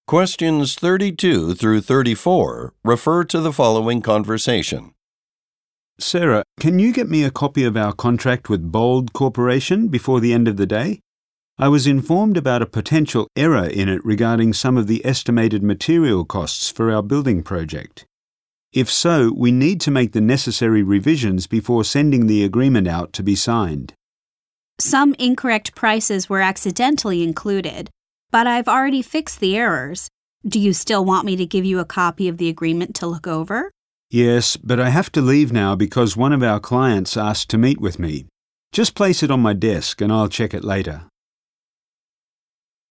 Questions 32 through 34 refer to the following conversation. Sarah, can you get me a copy of our contract with Bold Corporation before the end of the day? I was informed about a potential error in it regarding some of the estimated material costs for our building project. If so, we need to make the necessary revisions before sending the agreement out to be signed. Some incorrect prices were accidentally included, but I've already fixed the errors. Do you still want me to give you a copy of the agreement to look over? Yes, but I have to leave now because one of our clients asked to meet with me. Just place it on my desk and I'll check it later.